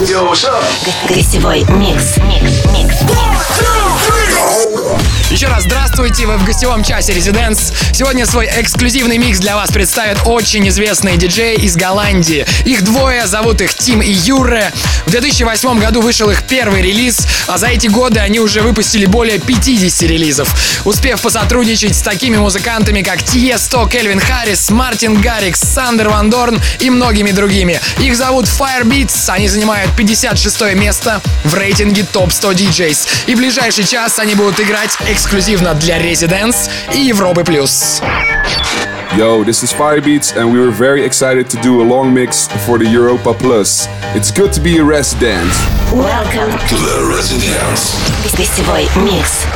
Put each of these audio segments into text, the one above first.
Гостевой микс. Еще раз здравствуйте, вы в гостевом часе Residence. Сегодня свой эксклюзивный микс для вас представят очень известные диджеи из Голландии. Их двое, зовут их Тим и Юре. В 2008 году вышел их первый релиз, а за эти годы они уже выпустили более 50 релизов, успев посотрудничать с такими музыкантами, как Тиесто, Кельвин Харрис, Мартин Гаррикс, Сандер Ван Дорн и многими другими. Их зовут Firebeats, они занимают 56 место в рейтинге топ 100 DJs. И в ближайший час они будут играть эксклюзивно для Residence и Европы+. Yo, this is Firebeats and we were very excited to do a long mix for the Europa Plus. It's good to be a resident. Welcome to the Residence. Гостевой микс.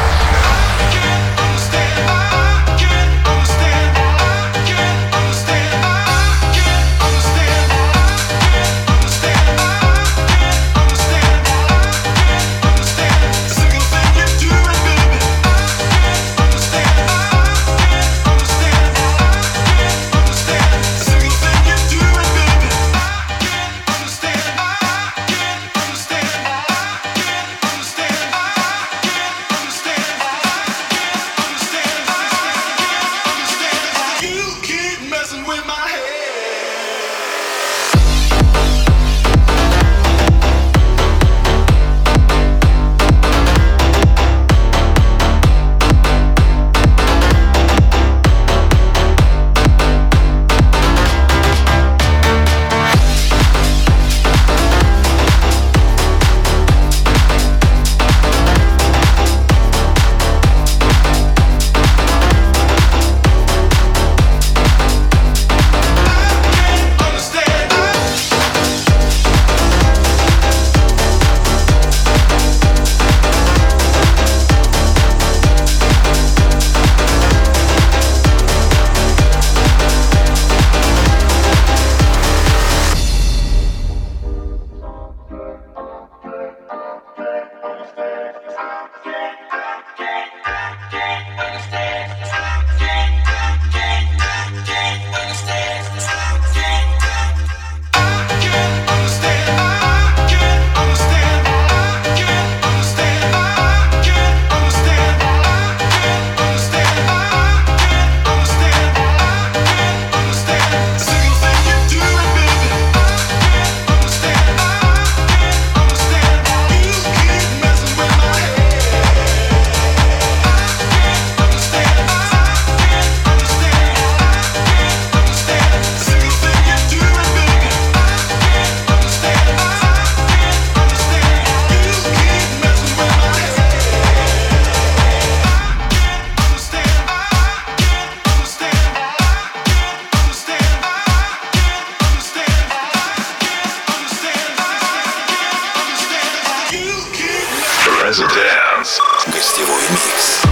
Residence. Гостевой микс.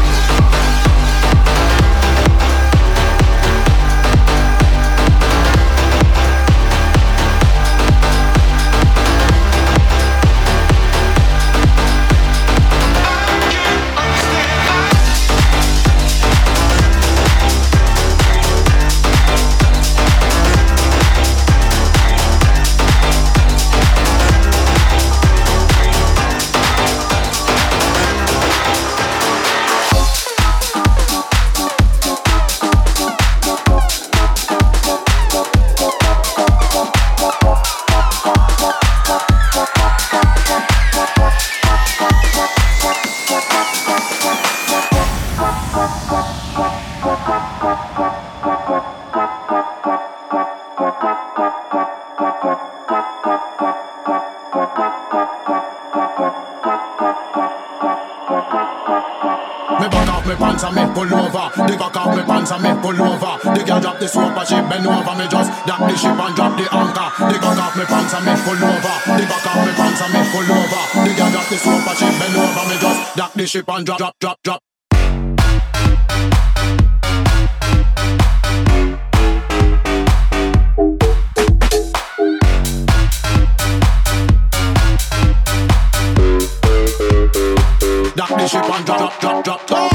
Pull over, the cock off me pants and me pull over. The girl drop the soap and she bend over. Me just dock the ship and drop the anchor. The cock off me pants and me pull over. The cock off me pants and me pull over. The girl drop the soap and she bend over. Me just dock the ship and drop. Dock the ship and drop.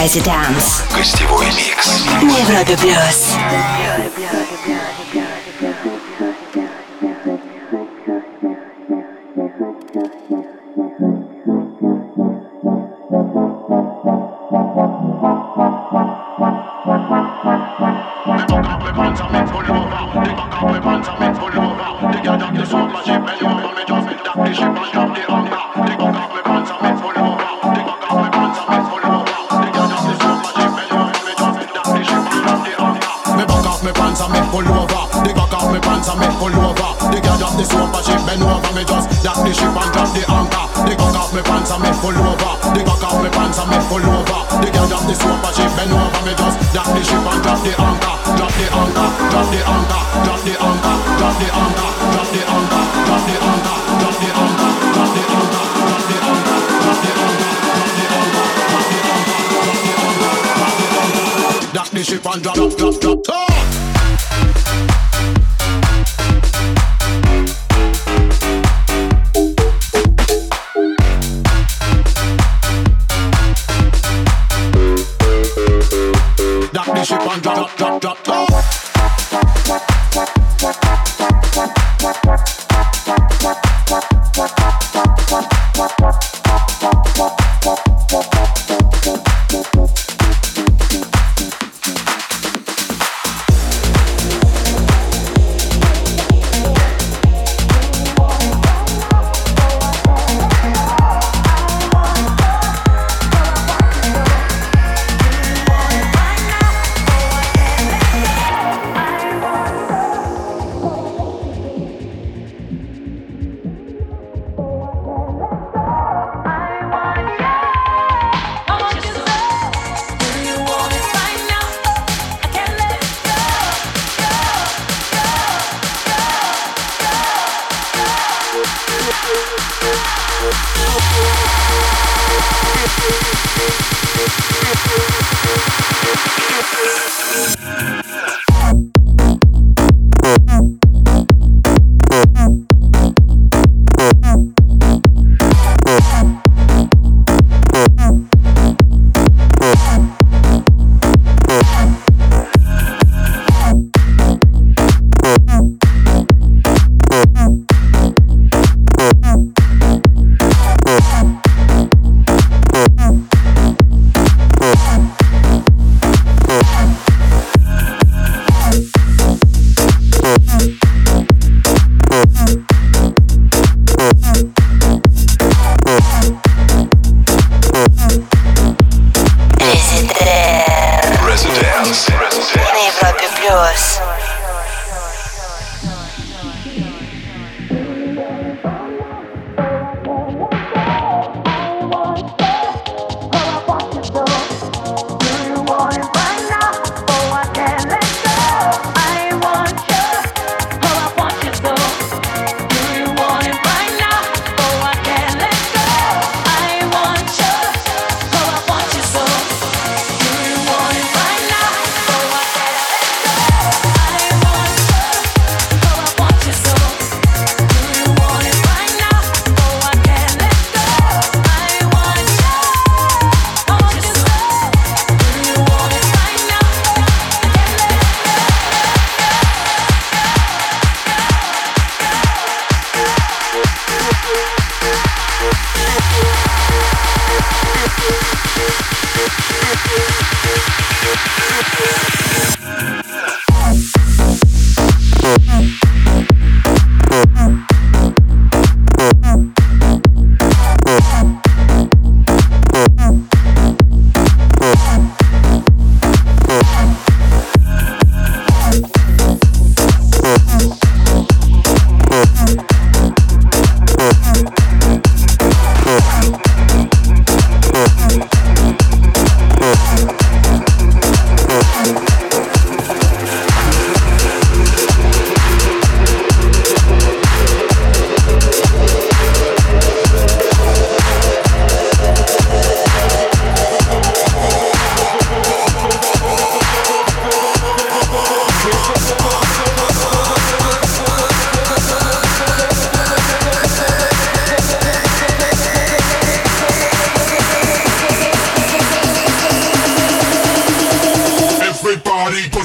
Residence. Гостевой микс. На Европе плюс.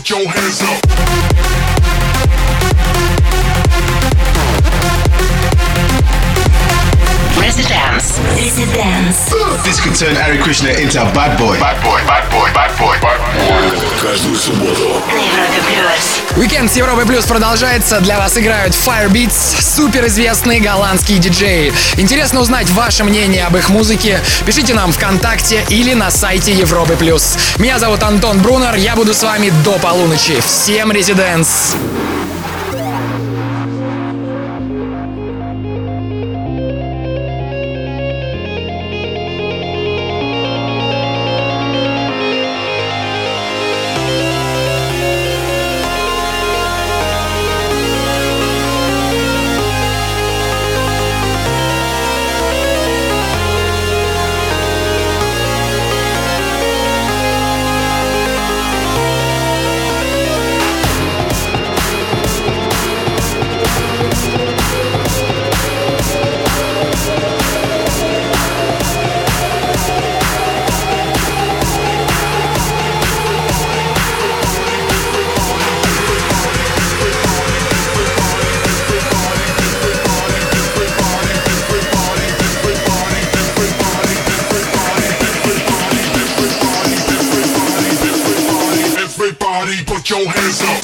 your hands up. Residence. This could turn Hare Krishna into a bad boy. Bad boy. Каждую субботу. На Европе Плюс. Уикенд с Европой Плюс продолжается. Для вас играют Firebeats, суперизвестные голландские диджеи. Интересно узнать ваше мнение об их музыке? Пишите нам ВКонтакте или на сайте Европы Плюс. Меня зовут Антон Брунер, я буду с вами до полуночи. Всем резиденс! Everybody put your hands up.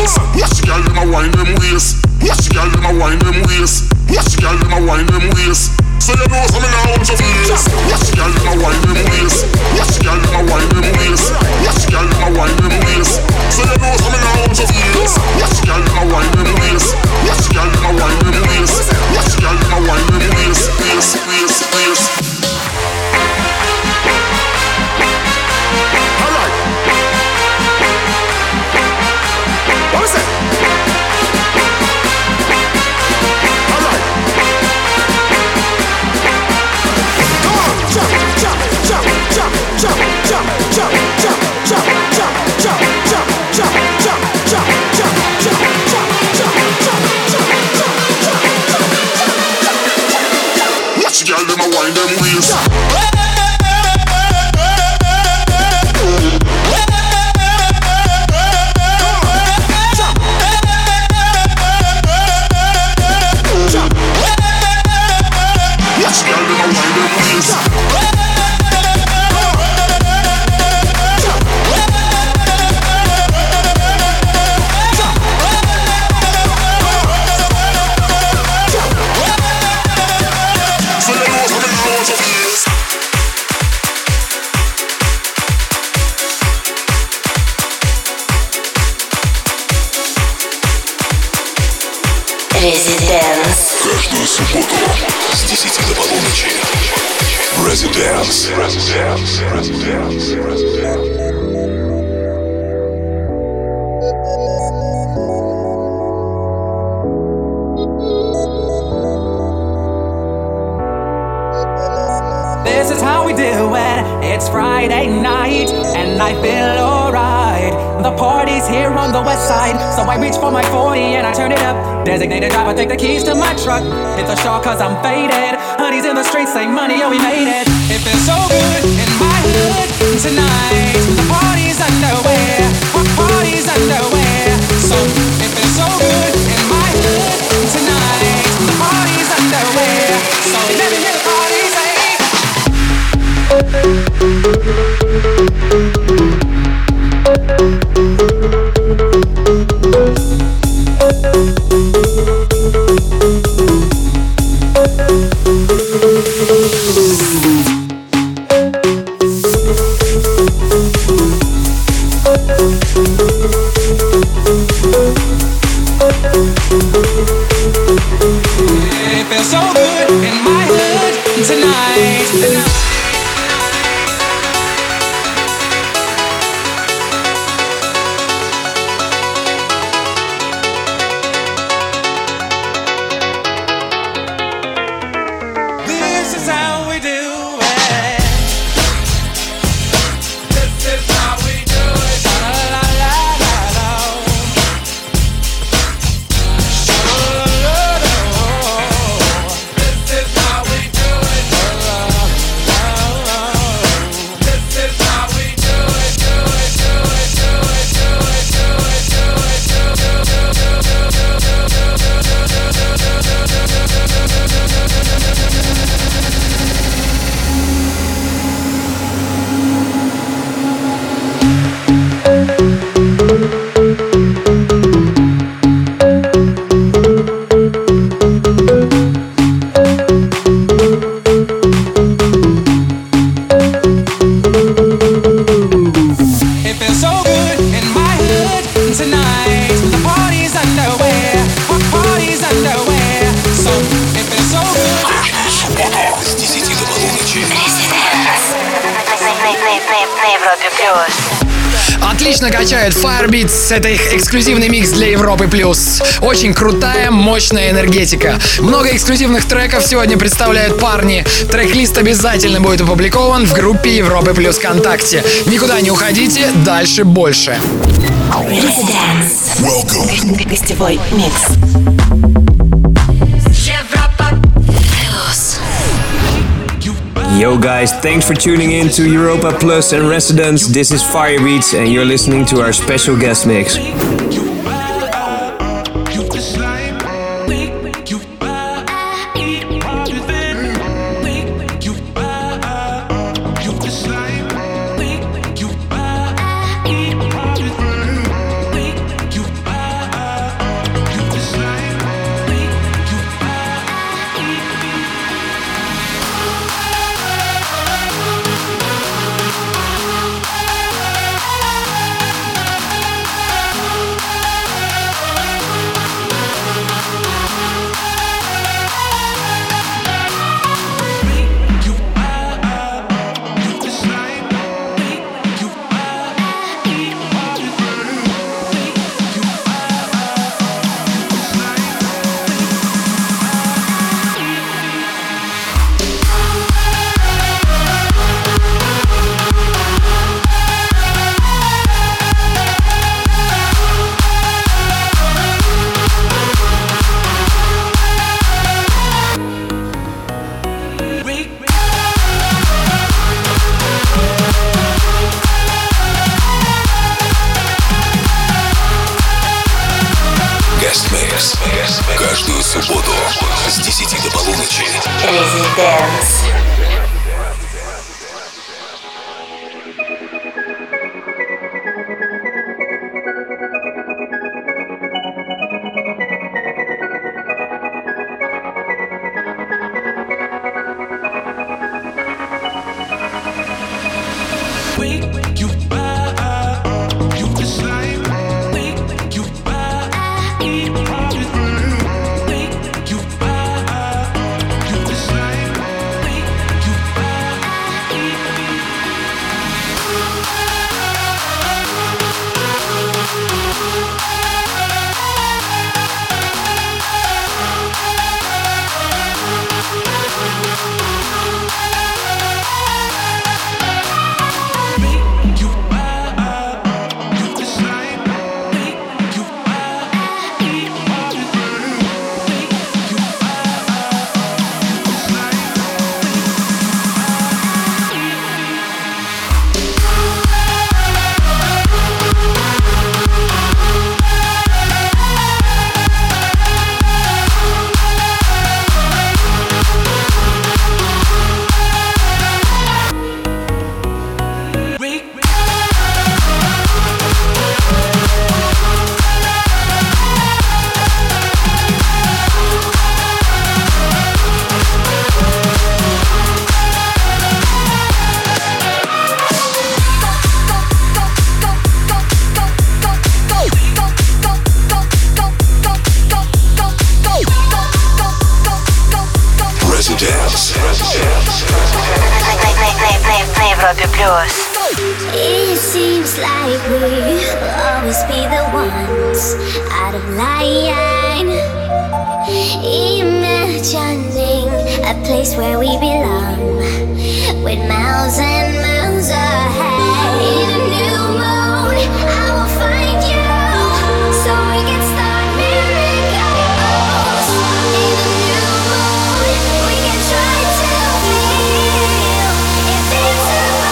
waist. Watch the girl them a wine them waist. Watch the girl them a wine them waist. Watch the girl them a wine them waist. So you know some now want to face. Watch the girl them a wine them waist. Watch the girl them a wine them waist. Watch the girl them a wine them waist. So you know some now want to face. Watch the girl them a wine them waist. Watch the girl them a wine them waist. Watch the girl them a wine them waist. Waist. Alright. What was that? Alright. Come on, jump, jump, jump, jump, jump, jump, jump, jump, jump, jump, jump, jump, jump, jump, jump, jump, jump, jump. Watch the girl them a wind them waist. Residence. Каждую субботу с 10 до полуночи. Residence. This is how we do it. It's Friday night and I feel alright. The party's here on the west side, so I reach for my 40 and I turn it up. Designated driver, take the keys to my truck. It's a shock cause I'm faded. Honey's in the streets, say money, oh we made it. It feels so good in my hood tonight. The party's underway, party's underway. So it feels so good in my hood tonight. The party's underway, so let me hear the party say. It feels so good in my hood tonight. This is how we do it. This is how we do it. La la la la la. Sha la la la. This is how we do it. La la la la. This is how we do it. Do it. Do it. Do it. Do it. Do it. Do it. It feels so good in my hood tonight. The party's underway, party's underway. So it feels so good. С 10 до полуночи. На Европе плюс. Отлично качает Firebeats. Это их эксклюзивный микс для Европы+. Очень крутая, мощная энергетика. Много эксклюзивных треков сегодня представляют парни. Трек-лист обязательно будет опубликован в группе Европы+ ВКонтакте. Никуда не уходите, дальше больше. Residence. Welcome. Гостевой микс. Европа плюс. Yo guys, thanks for tuning in to Europa Plus and Residence. This is Firebeats and you're listening to our special guest mix. Guest Mix. Каждую субботу с 10 до полуночи. Residence. It seems like we'll always be the ones out of line, imagining a place where we belong, with miles and miles ahead. In a new moon, I will find you, so we can start miracles. In a new moon, we can try to feel invincible.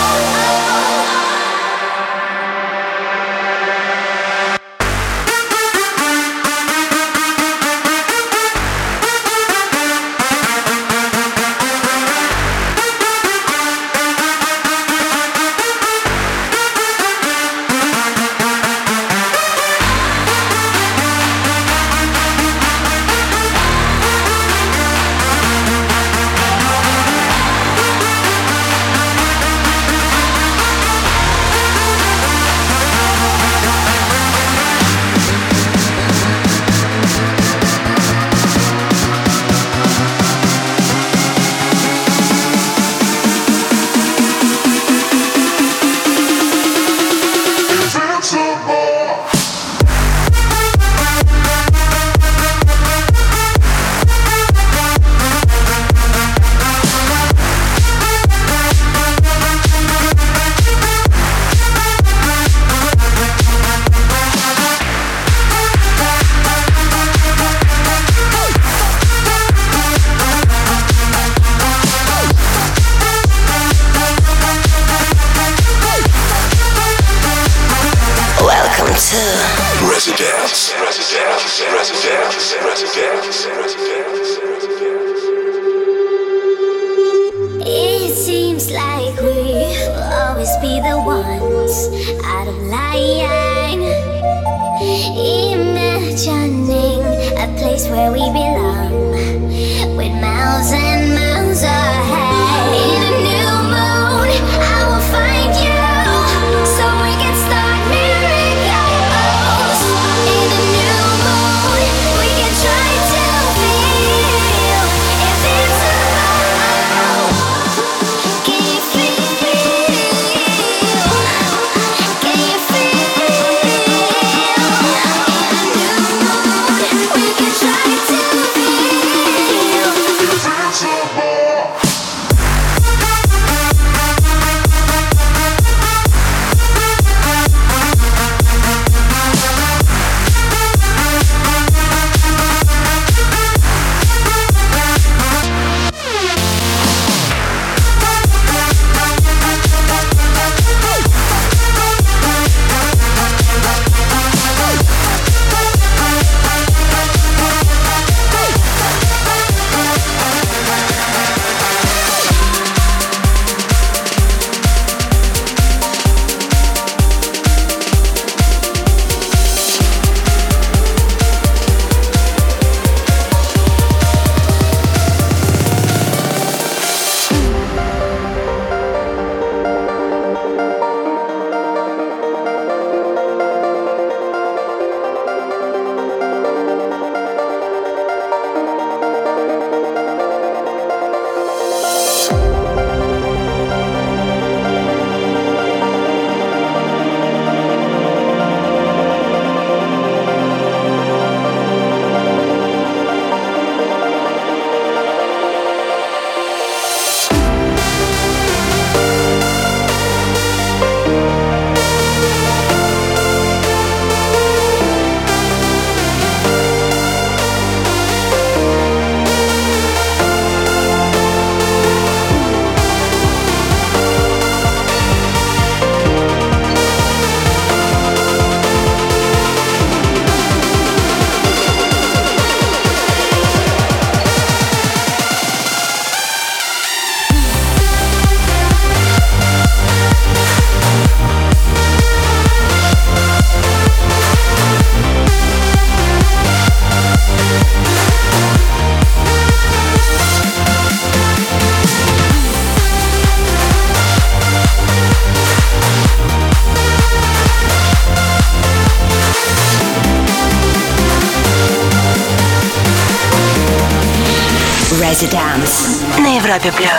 It seems like we'll always be the ones out of line, imagining a place where we belong, with miles and miles ahead. In a new moon, I will find you, so we can start miracles. In a new moon, we can try to feel invincible. Can you feel? Can you feel? In a new moon, we can try to feel invincible. Residence на Европе плюс.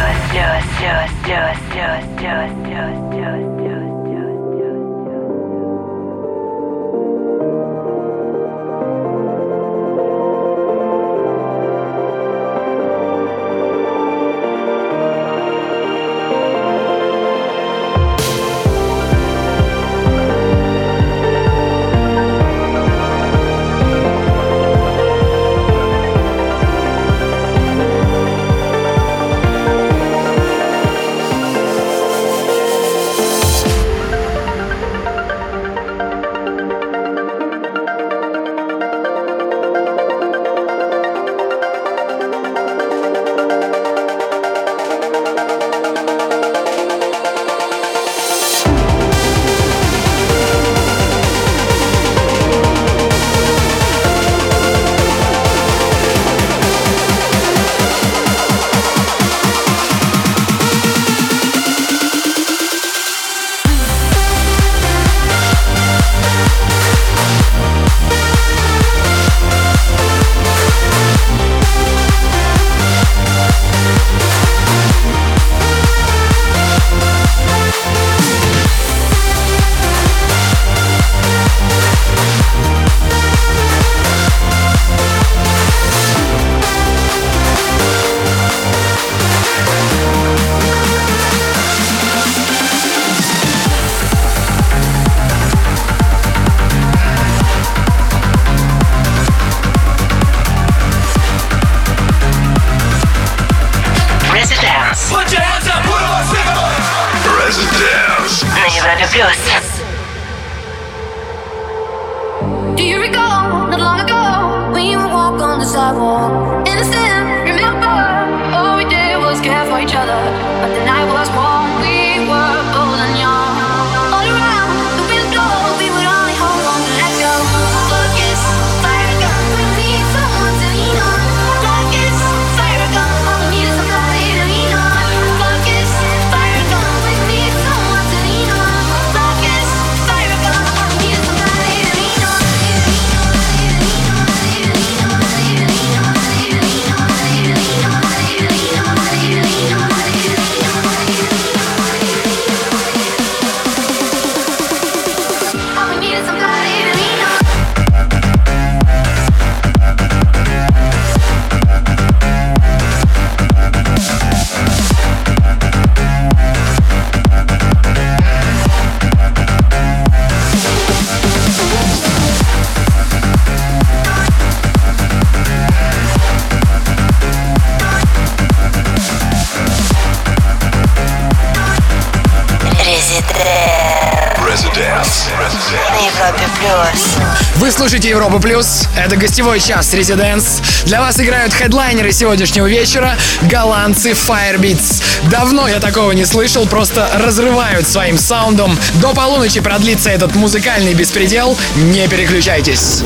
Вы слушаете Европу Плюс. Это гостевой час Residence. Для вас играют хедлайнеры сегодняшнего вечера — голландцы Firebeats. Давно я такого не слышал, просто разрывают своим саундом. До полуночи продлится этот музыкальный беспредел. Не переключайтесь.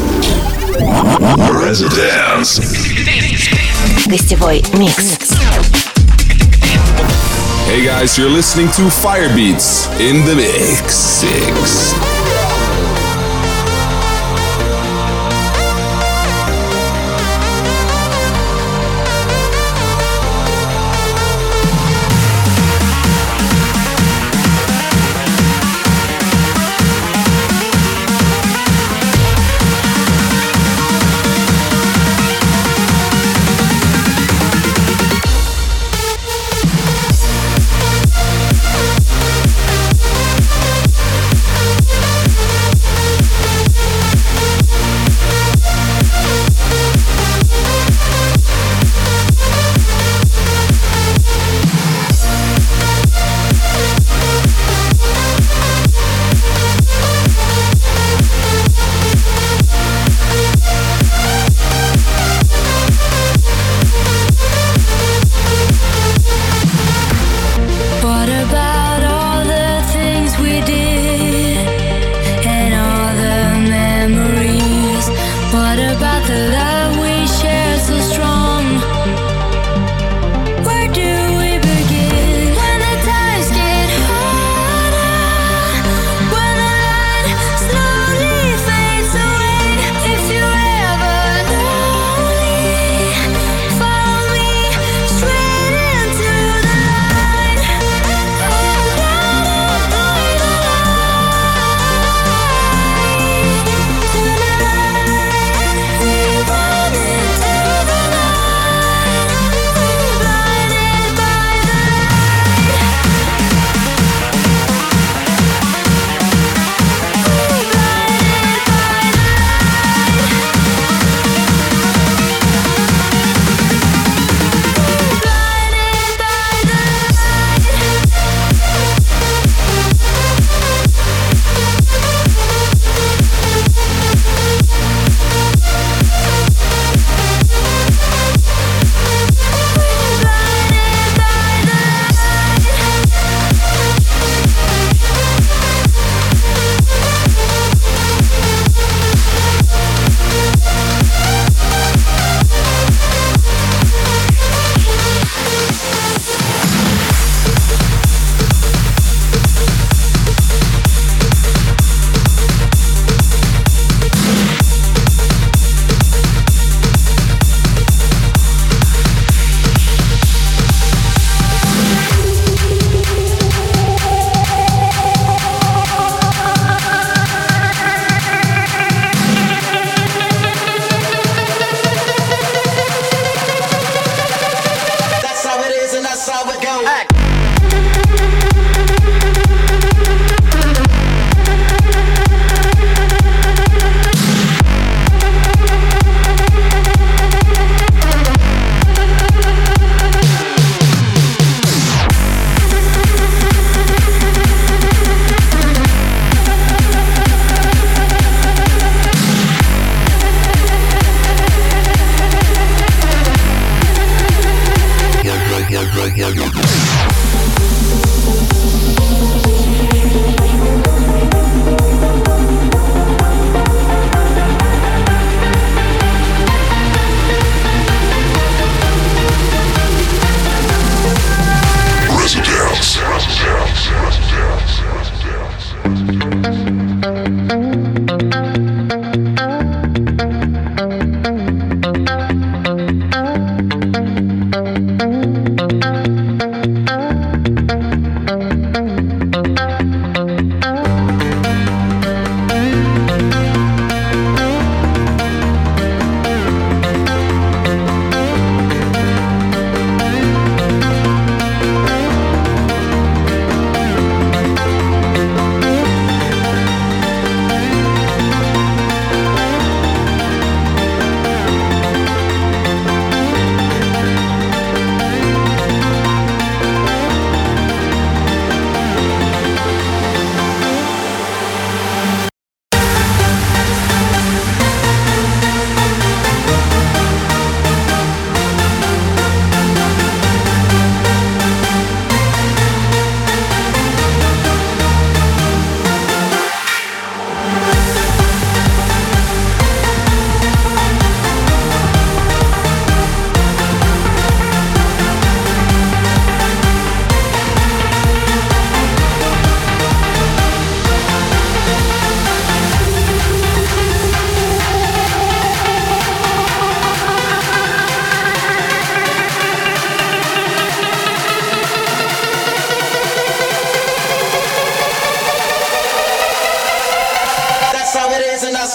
Residence. Гостевой микс. Hey guys, you're listening to Firebeats in the mix. Follow me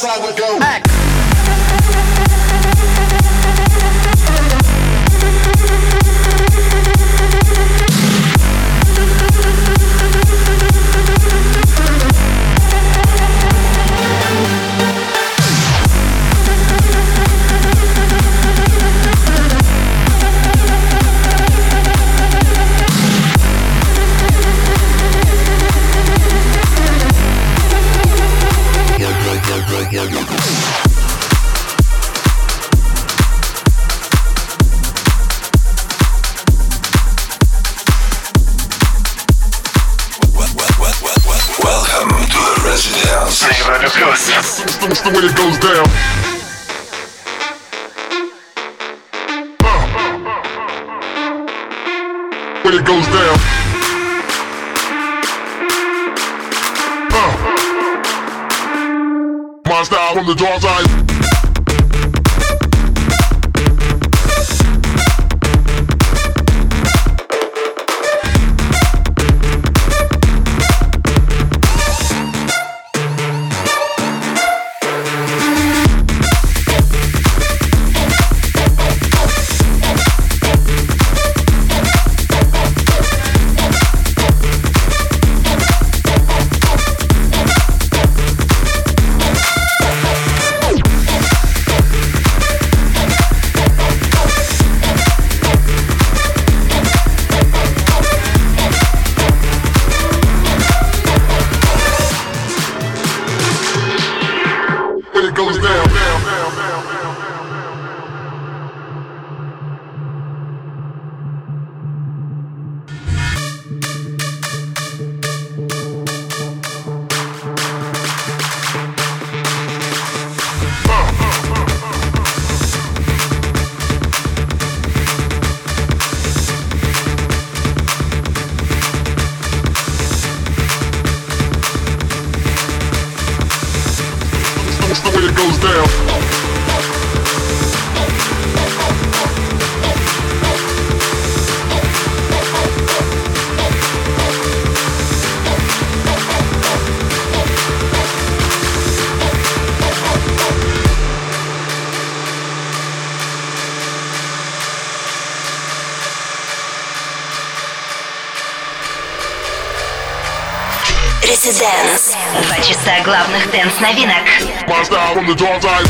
how it go. That's the way it goes down. When it goes down. My style from the dark side. Residence. 2 часа главных дэнс-новинок. My style from the dark side.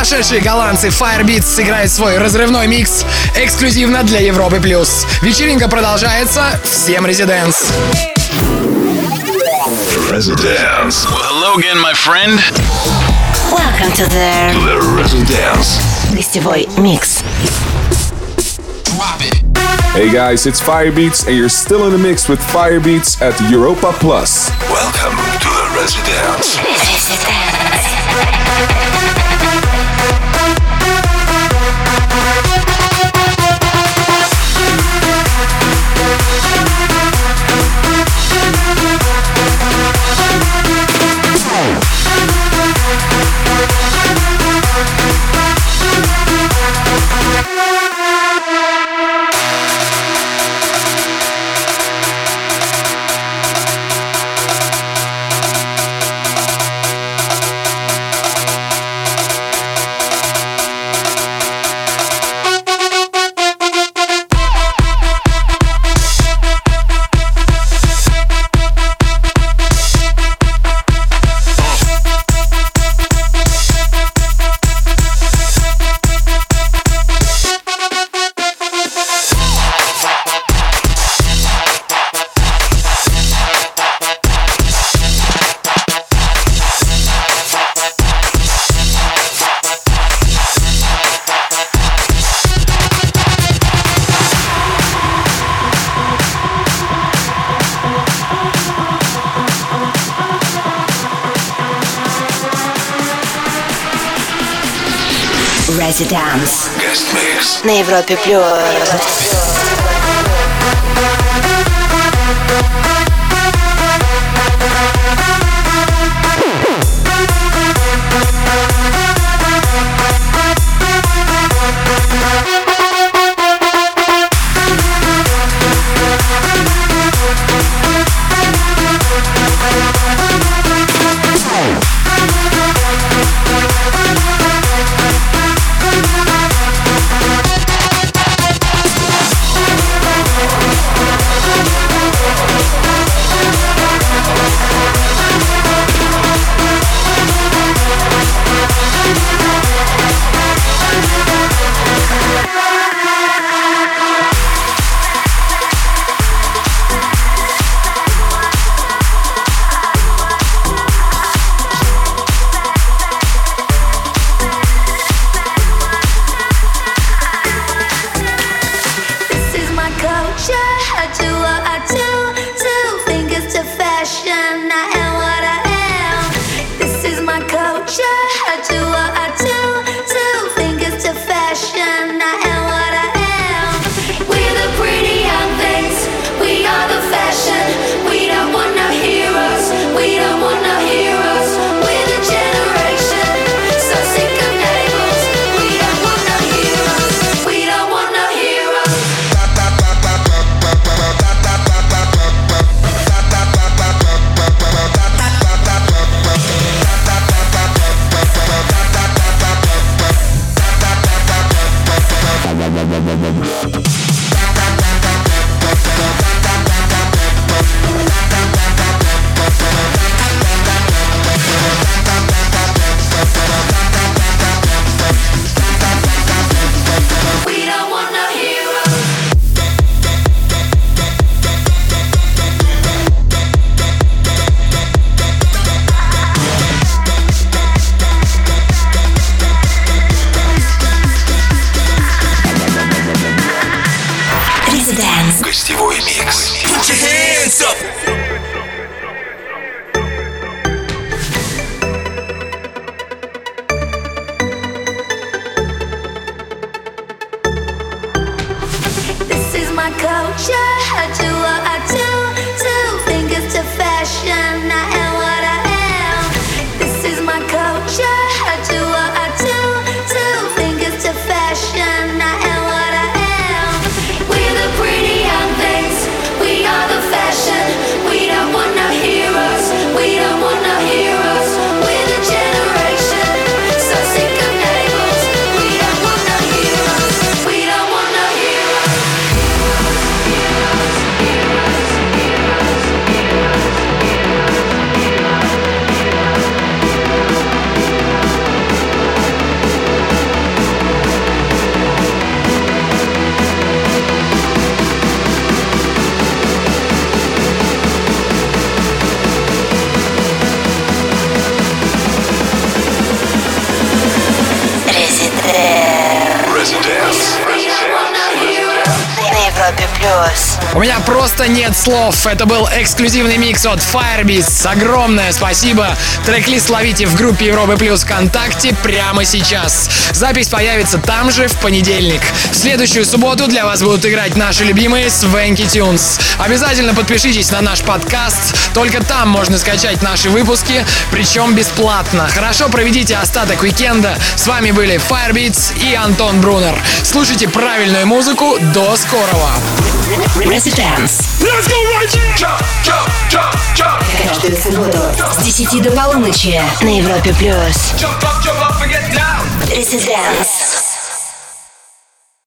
Сумасшедшие голландцы Firebeats сыграют свой разрывной микс эксклюзивно для Европы+. Вечеринка продолжается. Всем резиденс! Residence. Well, hello again, my friend. Welcome to the Residence. гостевой микс. Hey guys, it's Firebeats and you're still in the mix with Firebeats at Europa Plus. Welcome to the Residence. Residence Guest mix. на Европе+. Гостевой микс. Put your hands up. This is my culture. I do what I do. Two fingers to fashion. I am what I am. This is my culture. I do what I do. Two fingers to fashion. I am what I am. We're the pretty young things. We are the fashion. We don't want no heroes. We don't want no heroes. We're the generation. So sick of labels. We don't want no heroes. We don't want no heroes. У меня просто нет слов. Это был эксклюзивный микс от Firebeats. Огромное спасибо. Трек-лист ловите в группе Европы Плюс ВКонтакте прямо сейчас. Запись появится там же в понедельник. В следующую субботу для вас будут играть наши любимые Swanky Tunes. Обязательно подпишитесь на наш подкаст. Только там можно скачать наши выпуски, причем бесплатно. Хорошо проведите остаток уикенда. С вами были Firebeats и Антон Брунер. Слушайте правильную музыку. До скорого. Residence. Каждую субботу с 10 до полуночи на Европе Плюс. Residence.